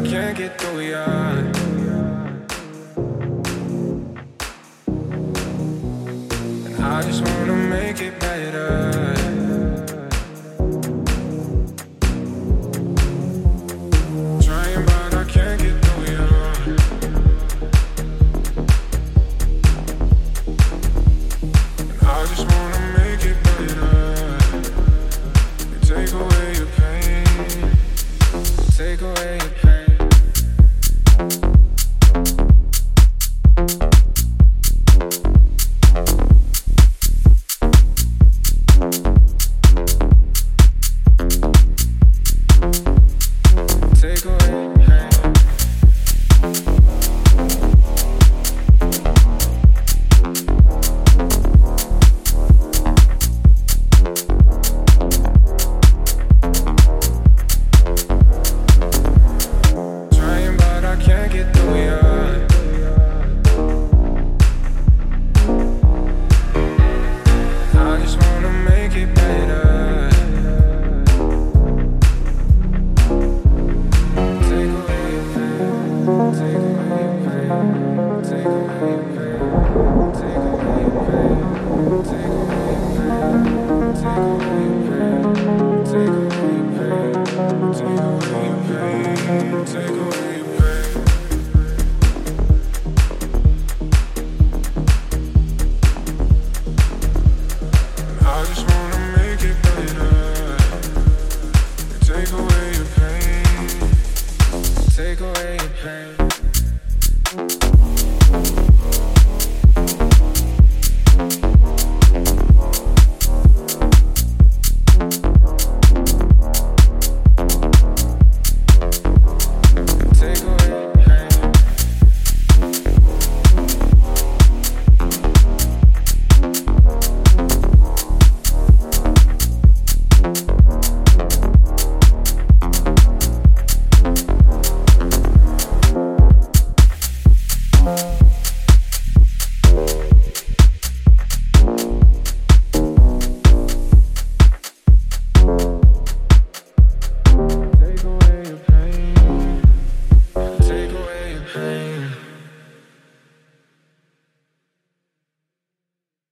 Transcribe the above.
can't get through ya. And I just wanna make it better. Trying but I can't get through ya. And I just wanna make it better. You take away your pain. Take away your pain. Take away your pain. Trying but I can't get through ya. I just wanna make it better. Take away your pain. Take away your pain. Take away your pain. Take away your pain. Take away your pain. Take away your pain. Take away your pain. Take away your pain. Take away your pain. I just wanna make it better. Take away your pain. Take away your pain.